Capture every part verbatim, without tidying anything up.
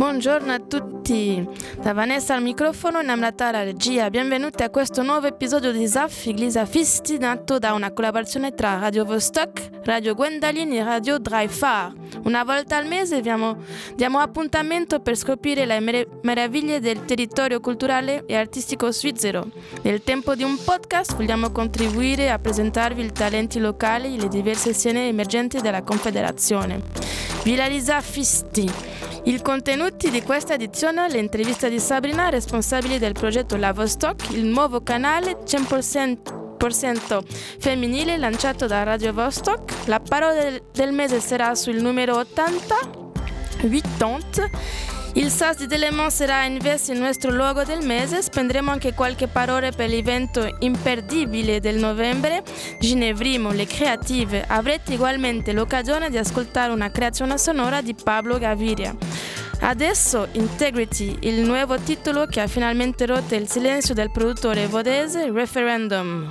Buongiorno a tutti, da Vanessa al microfono e Namrata alla regia. Benvenuti a questo nuovo episodio di Zaf Iglisa Fisti, nato da una collaborazione tra Radio Vostok, Radio Gwendalin e Radio Dreifar. Una volta al mese diamo, diamo appuntamento per scoprire le mer- meraviglie del territorio culturale e artistico svizzero. Nel tempo di un podcast vogliamo contribuire a presentarvi i talenti locali e le diverse scene emergenti della Confederazione. Viralizza Fisti. I contenuti di questa edizione, le interviste di Sabrina, responsabile del progetto La Vostok, il nuovo canale cento per cento femminile lanciato da Radio Vostok. La parola del, del mese sarà sul numero ottanta, ottanta. Il S A S di Delémont sarà invece il nostro logo del mese. Spenderemo anche qualche parola per l'evento imperdibile del novembre, Ginevrimo, le creative. Avrete ugualmente l'occasione di ascoltare una creazione sonora di Pablo Gaviria. Adesso Integrity, il nuovo titolo che ha finalmente rotto il silenzio del produttore vodese Referendum.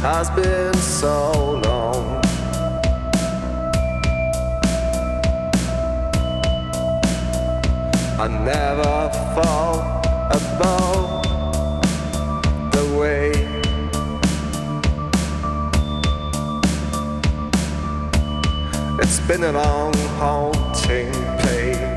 has been so long. I never fall above the way it's been a long, haunting pain.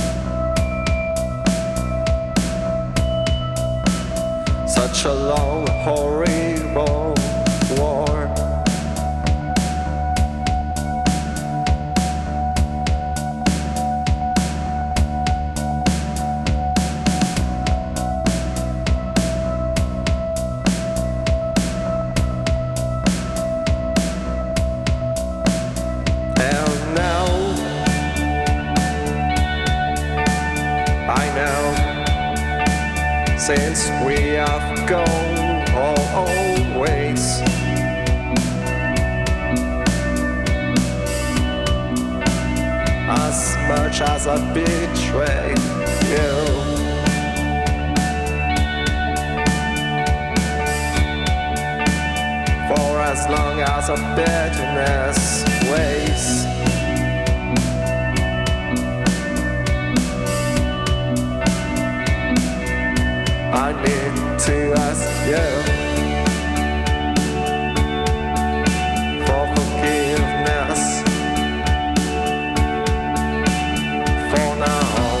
Such a long, horrible war. And now I know, since we have gone always, as much as I betray you, for as long as a bitterness weighs, I need to ask you for forgiveness for now.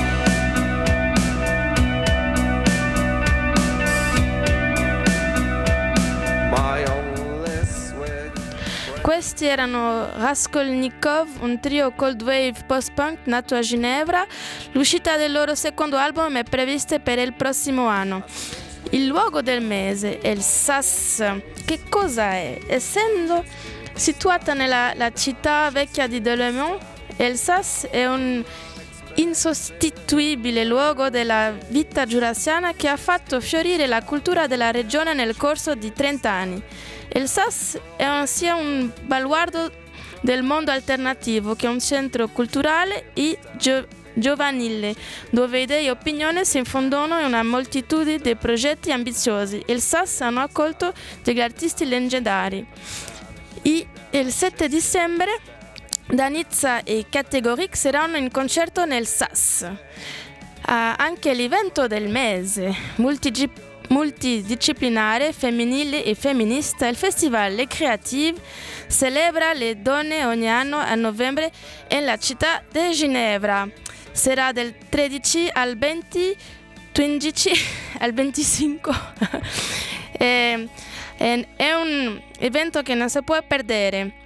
My only switch. Questi erano Raskolnikov, un trio cold wave post-punk nato a Ginevra. L'uscita del loro secondo album è prevista per il prossimo anno. Il luogo del mese è il S A S. Che cosa è? Essendo situata nella la città vecchia di Delémont, il S A S è un insostituibile luogo della vita giurassiana che ha fatto fiorire la cultura della regione nel corso di trenta anni. Il S A S è un, sia un baluardo del mondo alternativo che un centro culturale e gio- giovanile, dove idee e opinioni si infondono in una moltitudine di progetti ambiziosi. Il S A S hanno accolto degli artisti leggendari. E il sette dicembre Danizza e Categoric saranno in concerto nel S A S. Ha anche l'evento del mese, multigi- multidisciplinare, femminile e femminista, il festival Le Creative celebra le donne ogni anno a novembre nella città di Ginevra. Sarà del tredici al venti, quindici al venticinque. è, è, è un evento che non si può perdere.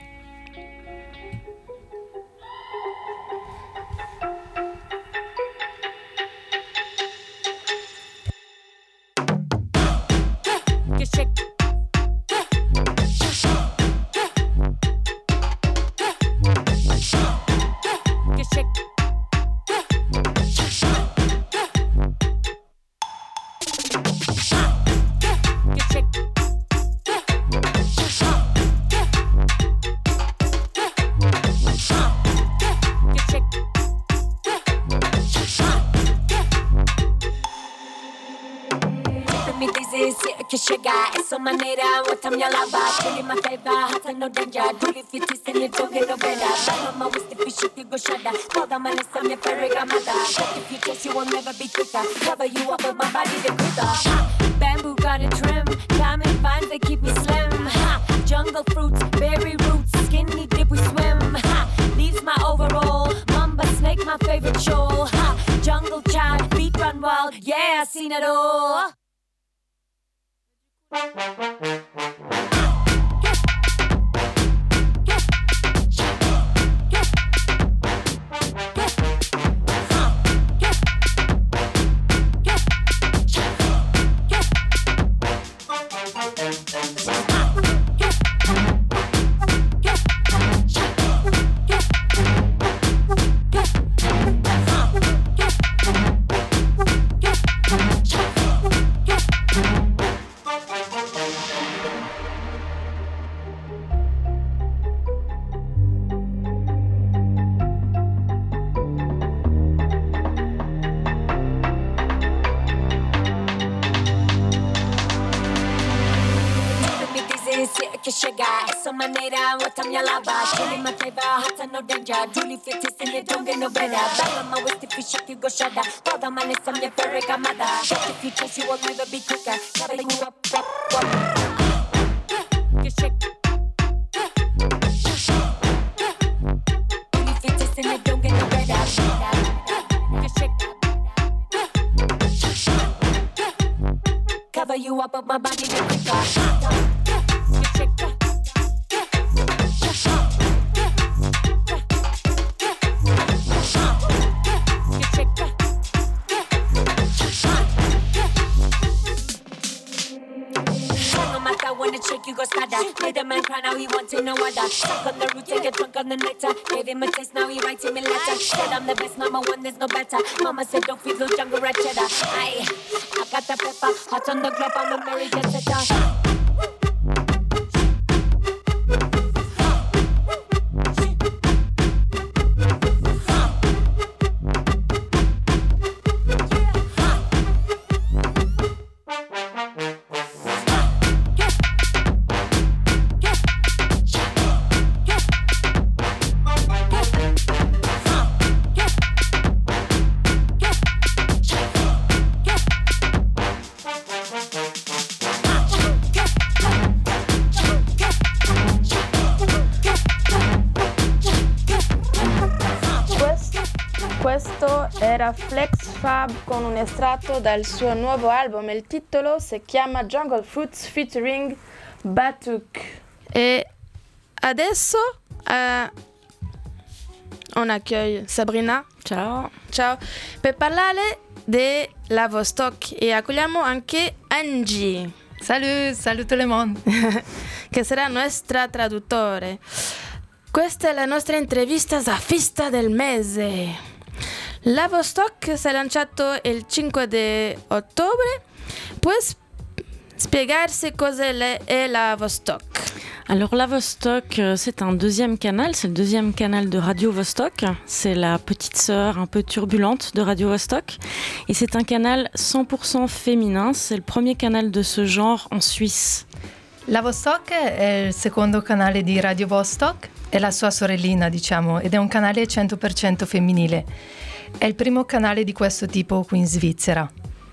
Che chega e sua maneira, what time y'all about? Really my favor, hot and no danger. Do if you twist and you don't get no better. Mama with the fish, you go shudder. Call the man, it's on your fairy grandmother. But if you taste, you will never be quicker. Cover you up with my body, the quicker. Bamboo got a trim, diamond vines, they keep me slim. Ha. Jungle fruits, berry roots, skinny dip, we swim. Ha. Leaves my overall, mamba snake, my favorite show. Ha. Jungle child, beat run wild, yeah, I seen it all. This is Kishiga, so my name, what I'm your lava. Killing my favor, hot and no danger. Julie fit is in it, don't get no better. Back on my waist if you shake, you go shudder. All the man is some your fairy mother. If you chase, you will never be quicker. Cover you up, up, up. You shake. Julie fit is in it, don't get no better. You shake. Cover you up, up my body, you quicker. Shake you go scatter. Made a man cry, now he wanting no other. Stuck on the root, take a drunk on the nectar. Gave him a taste, now he writing me letter. Said I'm the best, number one, there's no better. Mama said don't feed those jungle rat cheddar. Aye, I got the pepper, hot on the club, I'm a Mary jet setter. Questo era Flex Fab con un estratto dal suo nuovo album. Il titolo si chiama Jungle Fruits featuring Batuk. E adesso uh, on accueille Sabrina. Ciao. Ciao. Per parlare della Vostok e accogliamo anche Angie. Salut, salut tout le monde. Che sarà nostra traduttore. Questa è la nostra intervista Zafista del mese. La Vostok si è lanciato il cinque di ottobre. Puoi spiegarsi cosa è la Vostok? Alors la Vostok, c'est un deuxième canal, c'est le deuxième canal de Radio Vostok. C'est la petite sœur un peu turbulente de Radio Vostok. Et c'est un canal cent pour cent féminin, c'est le premier canal de ce genre en Suisse. La Vostok è il secondo canale di Radio Vostok, è la sua sorellina, diciamo, ed è un canale cento per cento femminile. È il primo canale di questo tipo qui in Svizzera.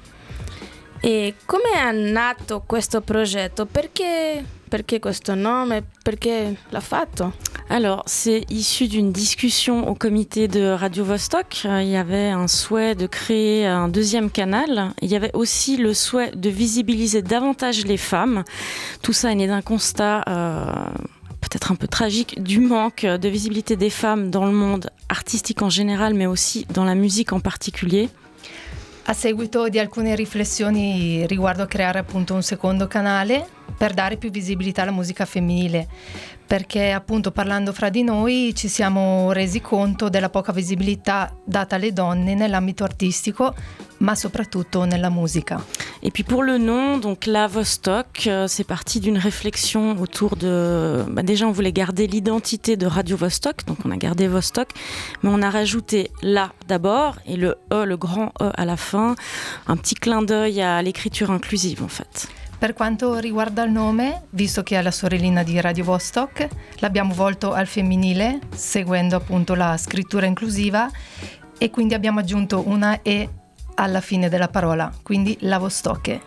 E come è nato questo progetto? Perché, perché questo nome? Perché l'ha fatto? Alors, c'est issu d'une discussion au comité de Radio Vostok. Il y avait un souhait de créer un deuxième canal. Il y avait aussi le souhait de visibiliser davantage les femmes. Tout ça est né d'un constat euh, peut-être un peu tragique du manque de visibilité des femmes dans le monde artistique en général, mais aussi dans la musique en particulier. A seguito di alcune riflessioni riguardo a creare appunto un secondo canale per dare più visibilità alla musica femminile, perché appunto parlando fra di noi ci siamo resi conto della poca visibilità data alle donne nell'ambito artistico, ma soprattutto nella musica. Et puis pour le nom, donc la Vostok, euh, c'est parti d'une réflexion autour de... Bah déjà, on voulait garder l'identité de Radio Vostok, donc on a gardé Vostok, mais on a rajouté la d'abord et le E, le grand E à la fin, un petit clin d'œil à l'écriture inclusive en fait. Per quanto riguarda il nome, visto che è la sorellina di Radio Vostok, l'abbiamo volto al femminile, seguendo appunto la scrittura inclusiva, e quindi abbiamo aggiunto una E alla fine della parola, quindi la Vostok.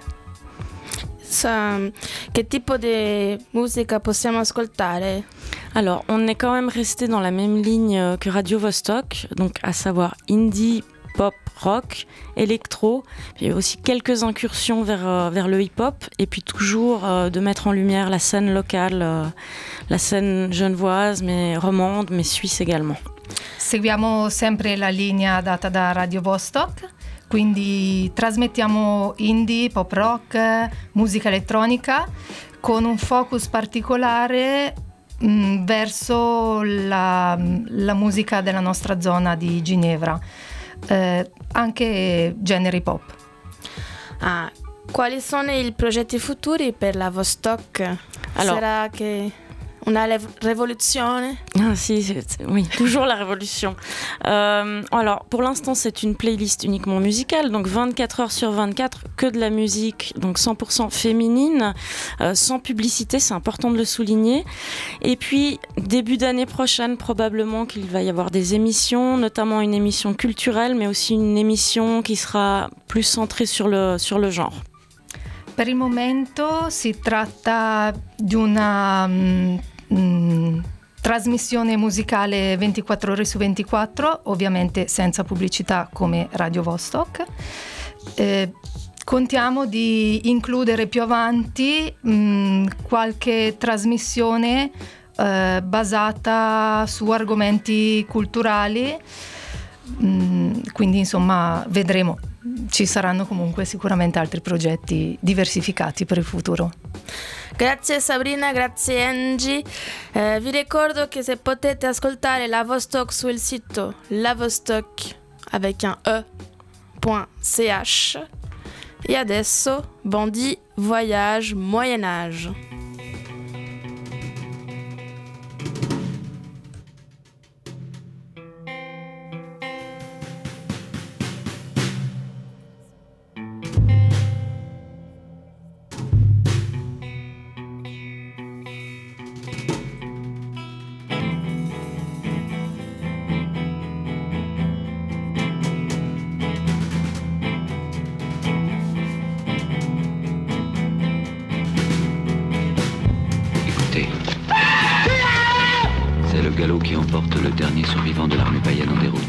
Sa, che tipo di musica possiamo ascoltare? Alors, on est quand même resté dans la même ligne que Radio Vostok, donc à savoir indie, pop, rock, électro, puis aussi quelques incursions vers, euh, vers le hip-hop, et puis toujours euh, de mettre en lumière la scène locale, euh, la scène genevoise, mais romande, mais suisse également. Seguiamo sempre la linea data da Radio Vostok, quindi trasmettiamo indie, pop rock, musica elettronica, con un focus particolare mh, verso la, la musica della nostra zona di Ginevra. Eh, anche generi pop. Ah, quali sono i progetti futuri per la Vostok? Alors, Sarà che Una lev- révolution. Ah si, c'est, c'est, oui, toujours la révolution. Euh, alors, pour l'instant, c'est une playlist uniquement musicale, donc vingt-quatre heures sur vingt-quatre, que de la musique, donc cent pour cent féminine, euh, sans publicité, c'est important de le souligner. Et puis, début d'année prochaine, probablement qu'il va y avoir des émissions, notamment une émission culturelle, mais aussi une émission qui sera plus centrée sur le, sur le genre. Per il momento si tratta di una mh, mh, trasmissione musicale ventiquattro ore su ventiquattro, ovviamente senza pubblicità come Radio Vostok. Eh, contiamo di includere più avanti mh, qualche trasmissione eh, basata su argomenti culturali, mh, quindi insomma vedremo. Ci saranno comunque sicuramente altri progetti diversificati per il futuro. Grazie Sabrina, grazie Angie. Eh, vi ricordo che se potete ascoltare la Vostok sul sito lavostok avec un e.ch. E adesso, Bandit Voyage Moyen Âge. galop qui emporte le dernier survivant de l'armée païenne en déroute.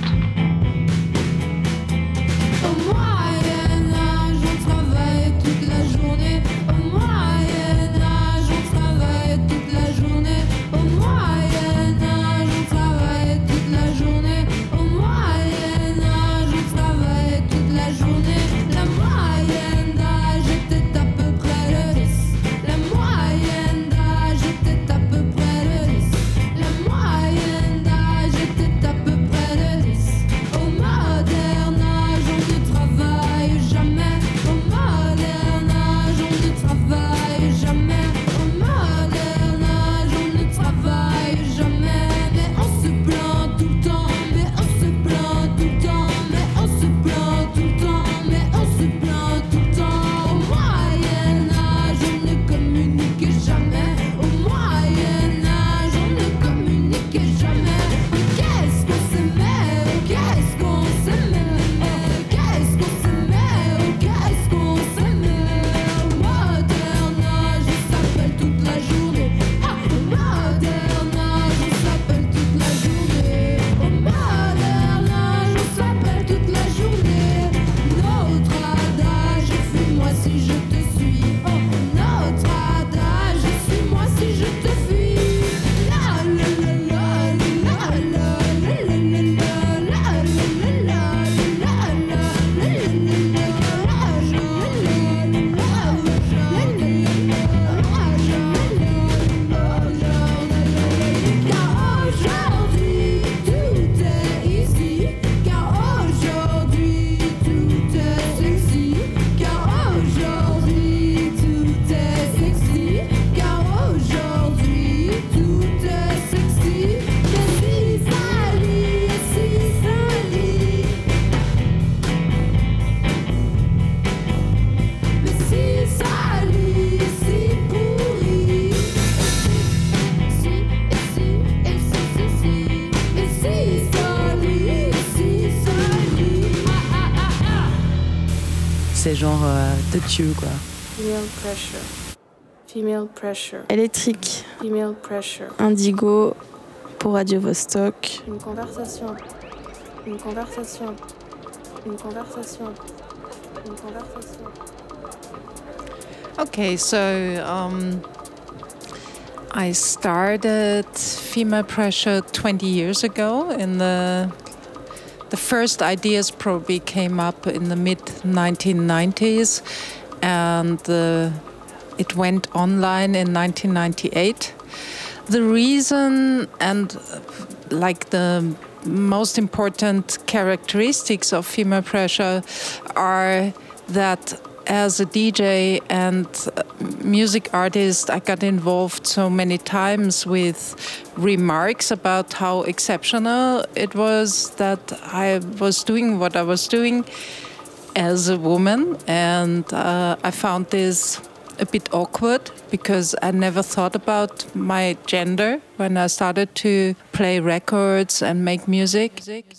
Au Moyen-Âge, on travaille toute la journée. Au Moyen-Âge, on travaille toute la journée. Au Moyen-Âge, on travaille toute la journée. Au Moyen-Âge, on travaille toute la journée. La moyenne d'âge était à peu près le dix. La moyenne d'âge était à peu près le dix. La moyenne d'âge était à peu près le dix. Au moderne âge, on ne travaille jamais. Au moderne âge, on ne travaille jamais. Au moderne âge, on ne travaille jamais. Mais on se plaint tout le temps. Mais on se plaint tout le temps. Mais on se plaint tout le temps. Mais on se plaint tout le temps. Au Moyen Âge, on ne communiquait jamais. Au Moyen Âge, on ne communiquait jamais. Mais qu'est-ce qu'on s'aimait? Oh, qu'est-ce qu'on s'aimait? Oh, qu'est-ce qu'on s'aimait? Oh, qu'est-ce qu'on s'aimait? Au moderne âge, on s'appelle toute la journée. Ah, au moderne âge, on s'appelle toute la journée. Au moderne âge, on s'appelle toute la journée. Notre adage, fuis-moi si je te suis. Oh, notre adage, suis-moi si je te fuis. La la la la la la la la la la car aujourd'hui tout est ici, car aujourd'hui tout est sexy, car aujourd'hui tout est sexy, car aujourd'hui tout est sexy. Mais si ça lit, si ça lit, mais si ça lit, si pourri. Si, et si, et si, si, si, et si ça lit, si ça lit. Ah, ah, ah, ah. C'est genre euh, de Dieu, quoi. Female pressure. Female pressure. Électrique. Female pressure. Indigo pour Radio Vostok. Une conversation. Une conversation. Une conversation. Une conversation. Okay, so um, I started Female Pressure twenty years ago. In the the first ideas probably came up in the mid nineteen nineties, and uh, it went online in nineteen ninety-eight. The reason and uh, like the most important characteristics of Female Pressure are that as a D J and music artist, I got involved so many times with remarks about how exceptional it was that I was doing what I was doing as a woman. And uh, I found this a bit awkward because I never thought about my gender when I started to play records and make music.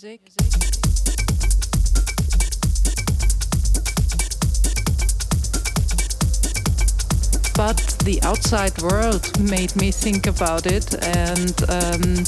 But the outside world made me think about it, and um,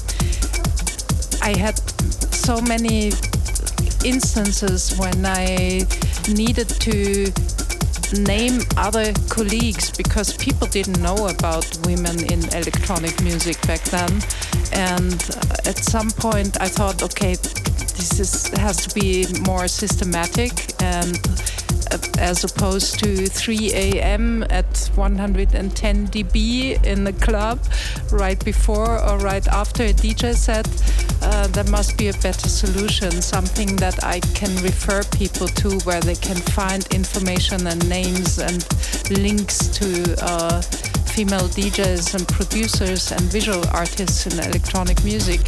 I had so many instances when I needed to name other colleagues because people didn't know about women in electronic music back then. And at some point I thought, okay, this is, has to be more systematic, and as opposed to three a.m. at one hundred ten decibels in the club right before or right after a D J set, uh, there must be a better solution, something that I can refer people to where they can find information and names and links to uh, female D Js and producers and visual artists in electronic music.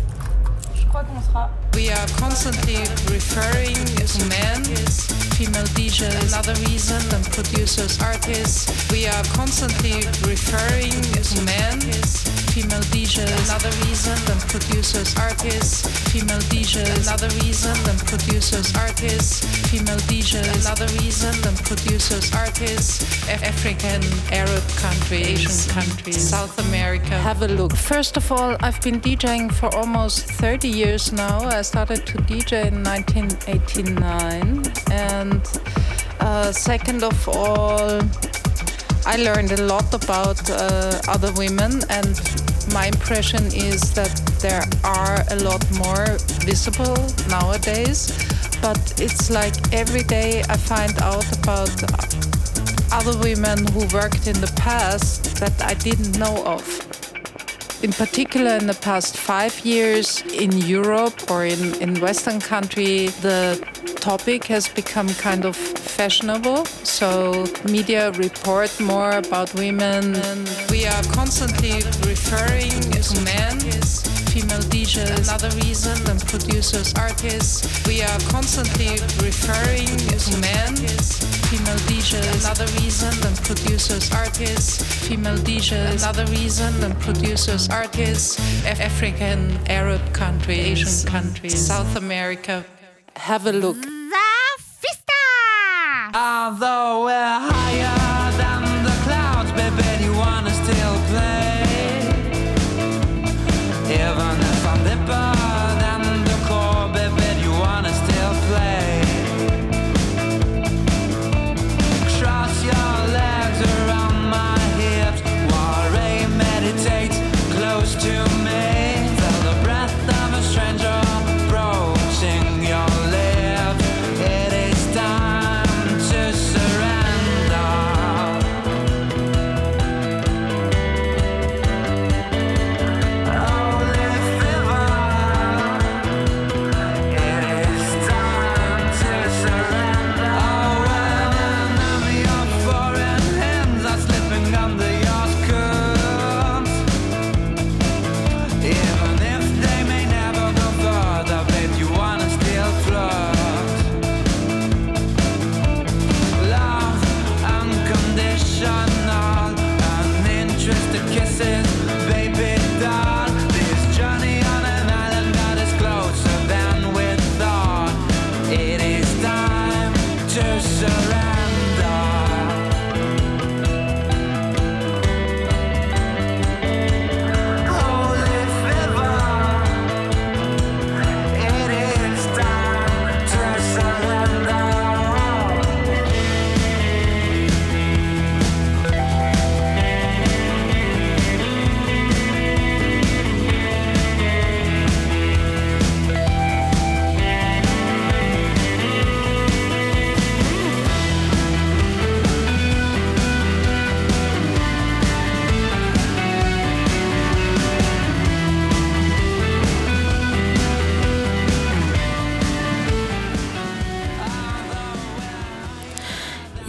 We are constantly referring to men, female D Js, another reason, and producers, artists. We are constantly referring to men, female D Js, another reason, and producers, artists. Female D Js, another reason, and producers, artists. Female D Js, another reason, and producers, artists. Af- African, Arab countries, Asian countries, South America. Have a look. First of all, I've been DJing for almost thirty years now. I started to D J in nineteen eighty-nine, and uh, second of all, I learned a lot about uh, other women, and my impression is that there are a lot more visible nowadays, but it's like every day I find out about other women who worked in the past that I didn't know of. In particular, in the past five years in Europe or in, in Western country, the topic has become kind of fashionable. So media report more about women. And we are constantly referring to men, female D Js, another reason, and producers, artists. We are constantly referring to men, female D Js, another reason, and producers, artists. Female D Js, another reason, and producers, artists. Af- African, Arab countries, Asian countries, South America. Have a look. Although we're higher than the clouds, baby, you wanna still play. Even if I'm deeper than the core, baby, you wanna still play. Cross your legs around my hips while I meditate close to me. Feel the breath of a stranger approaching your lips. It is time to surrender.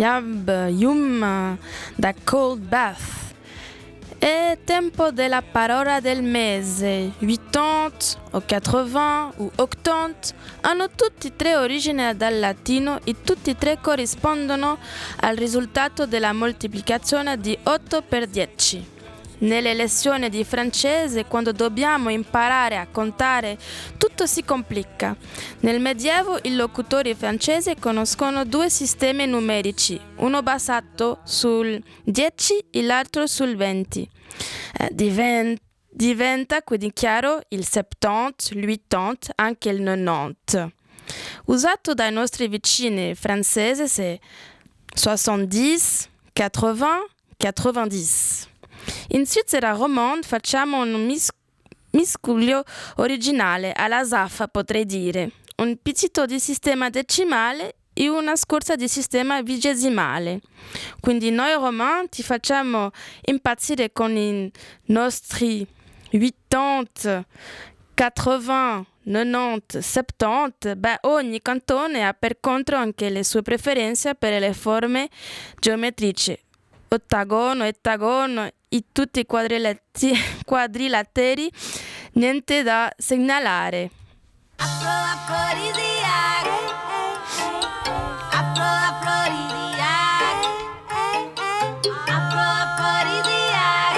Yab Yum da Cold Bath. È tempo della parola del mese. ottanta o ottanta o ottanta hanno tutti e tre origine dal latino e tutti e tre corrispondono al risultato della moltiplicazione di otto per dieci. Nelle lezioni di francese, quando dobbiamo imparare a contare, tutto si complica. Nel Medioevo i locutori francesi conoscono due sistemi numerici, uno basato sul dieci e l'altro sul venti. Eh, diven- diventa quindi chiaro il settanta, l'ottanta, anche il novanta. Usato dai nostri vicini francesi c'est soixante-dix, quatre-vingts, quatre-vingt-dix. In Svizzera romande facciamo un mis- miscuglio originale, alla zaffa potrei dire, un pizzito di sistema decimale e una scorza di sistema vigesimale. Quindi noi romani ti facciamo impazzire con i nostri ottanta, quatre-vingts, novanta, settanta, beh, ogni cantone ha per contro anche le sue preferenze per le forme geometriche. Ottagono, ettagono e tutti i quadrilati- quadrilateri, niente da segnalare. Afro afrodisiac, afro afrodisiac, afro afrodisiac,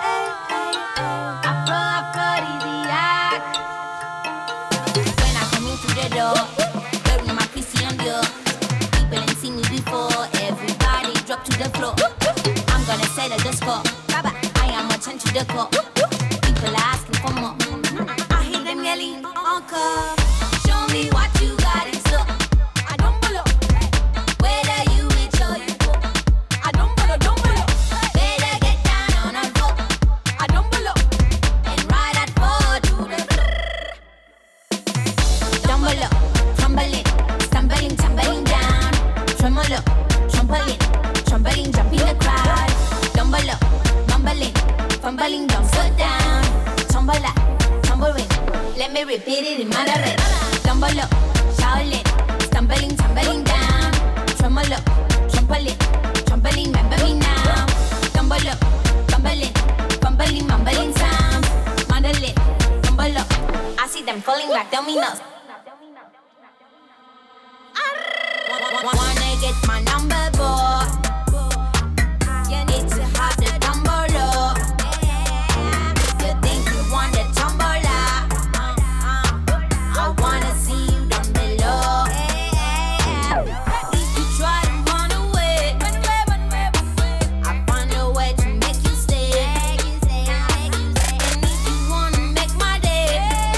afro afrodisiac. When I come into the door, wearing my Christian Dior, people ain't seen me before, everybody drop to the floor. I'm gonna settle the score, Baba, I am a ten to the core. People are asking for more, I hear them yelling encore. Show me what you got in store. I don't follow. Whether you rich or you poor, I don't follow, don't follow. Better get down on a floor. I don't follow. And ride that four to the Dumble up, tumbling, stumbling, tumbling down. Tremolo, trampoline, trampoline, jump in the crowd. Dumble up, mumbling, fumbling, dumb foot down. Tumble up, tumbling. Let me repeat it in Mandarin. Stumble up, Shaolin, stumbling, tumbling down. Tremolo, trampoline, trampoline, remember me now. Stumble up, fumbling, fumbling, mumbling sound. Mandolin, tumble up, I see them falling like dominoes. Wanna get my number, boy? You need to have the tumble up. You think you want the tumble up? I wanna see you down below. If you try to run away, I find a way to make you stay. And if you wanna make my day,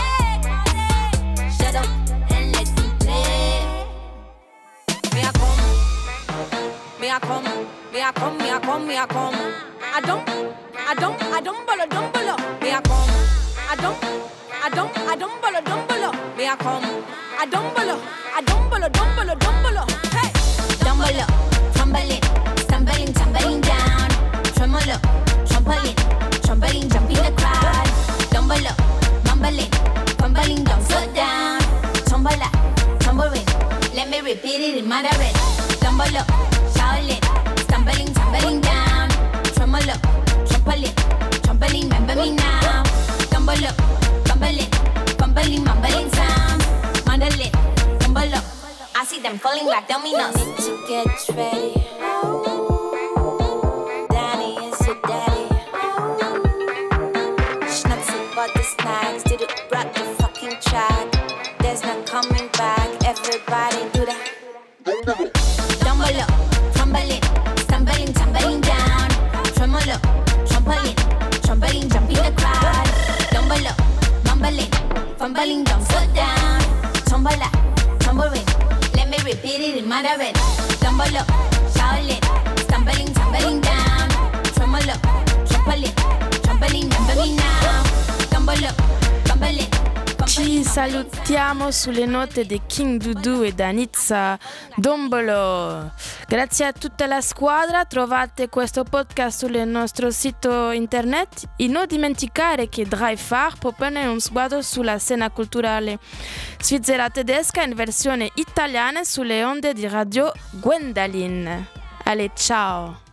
shut up and let me play. Me a come, me a come, me a come, me a come, me a come. I don't, I don't, I don't bolo, don't bolo. Me a come, I don't, I don't, I don't bolo, don't bolo. Me a come, I don't bolo, I don't bolo, don't bolo, don't bolo. Hey, dumble, tumbling, stumbling, tumbling down. Tremolo, trampoline, trampoline, jump in the crowd. Dumble, mumbling, fumbling, dumb foot down. Tumble, tumbling. Let me repeat it in Mandarin. Dumble up, Shaolin, stumbling, tumbling down. Tremolo, trampoline, trampoline, remember me now. Dumble up, fumbling, fumbling, mumbling sound. Mandolin, tumble up, I see them falling like dominoes. Need to get ready. Danny is your daddy. Schnapsy bought the snacks, did it brought the fucking track. There's no coming back, everybody do that. Dumble up, tumbling, stumbling, tumbling down. Tremolo, trampoline, trampoline, jump in the crowd. Dumble up, mumbling, fumbling, dumb foot down. Tumble up, tumbling, let me repeat it in Mandarin. Dumble up, Shaolin, stumbling, tumbling down. Tremolo, trampoline, trampoline, remember me now. Dumble up, fumbling. Ci salutiamo sulle note di King Dudu e da Nizza Dombolo. Grazie a tutta la squadra, trovate questo podcast sul nostro sito internet e non dimenticare che Drive Far propone un sguardo sulla scena culturale svizzera tedesca in versione italiana sulle onde di Radio Gwendalin. Allez, ciao!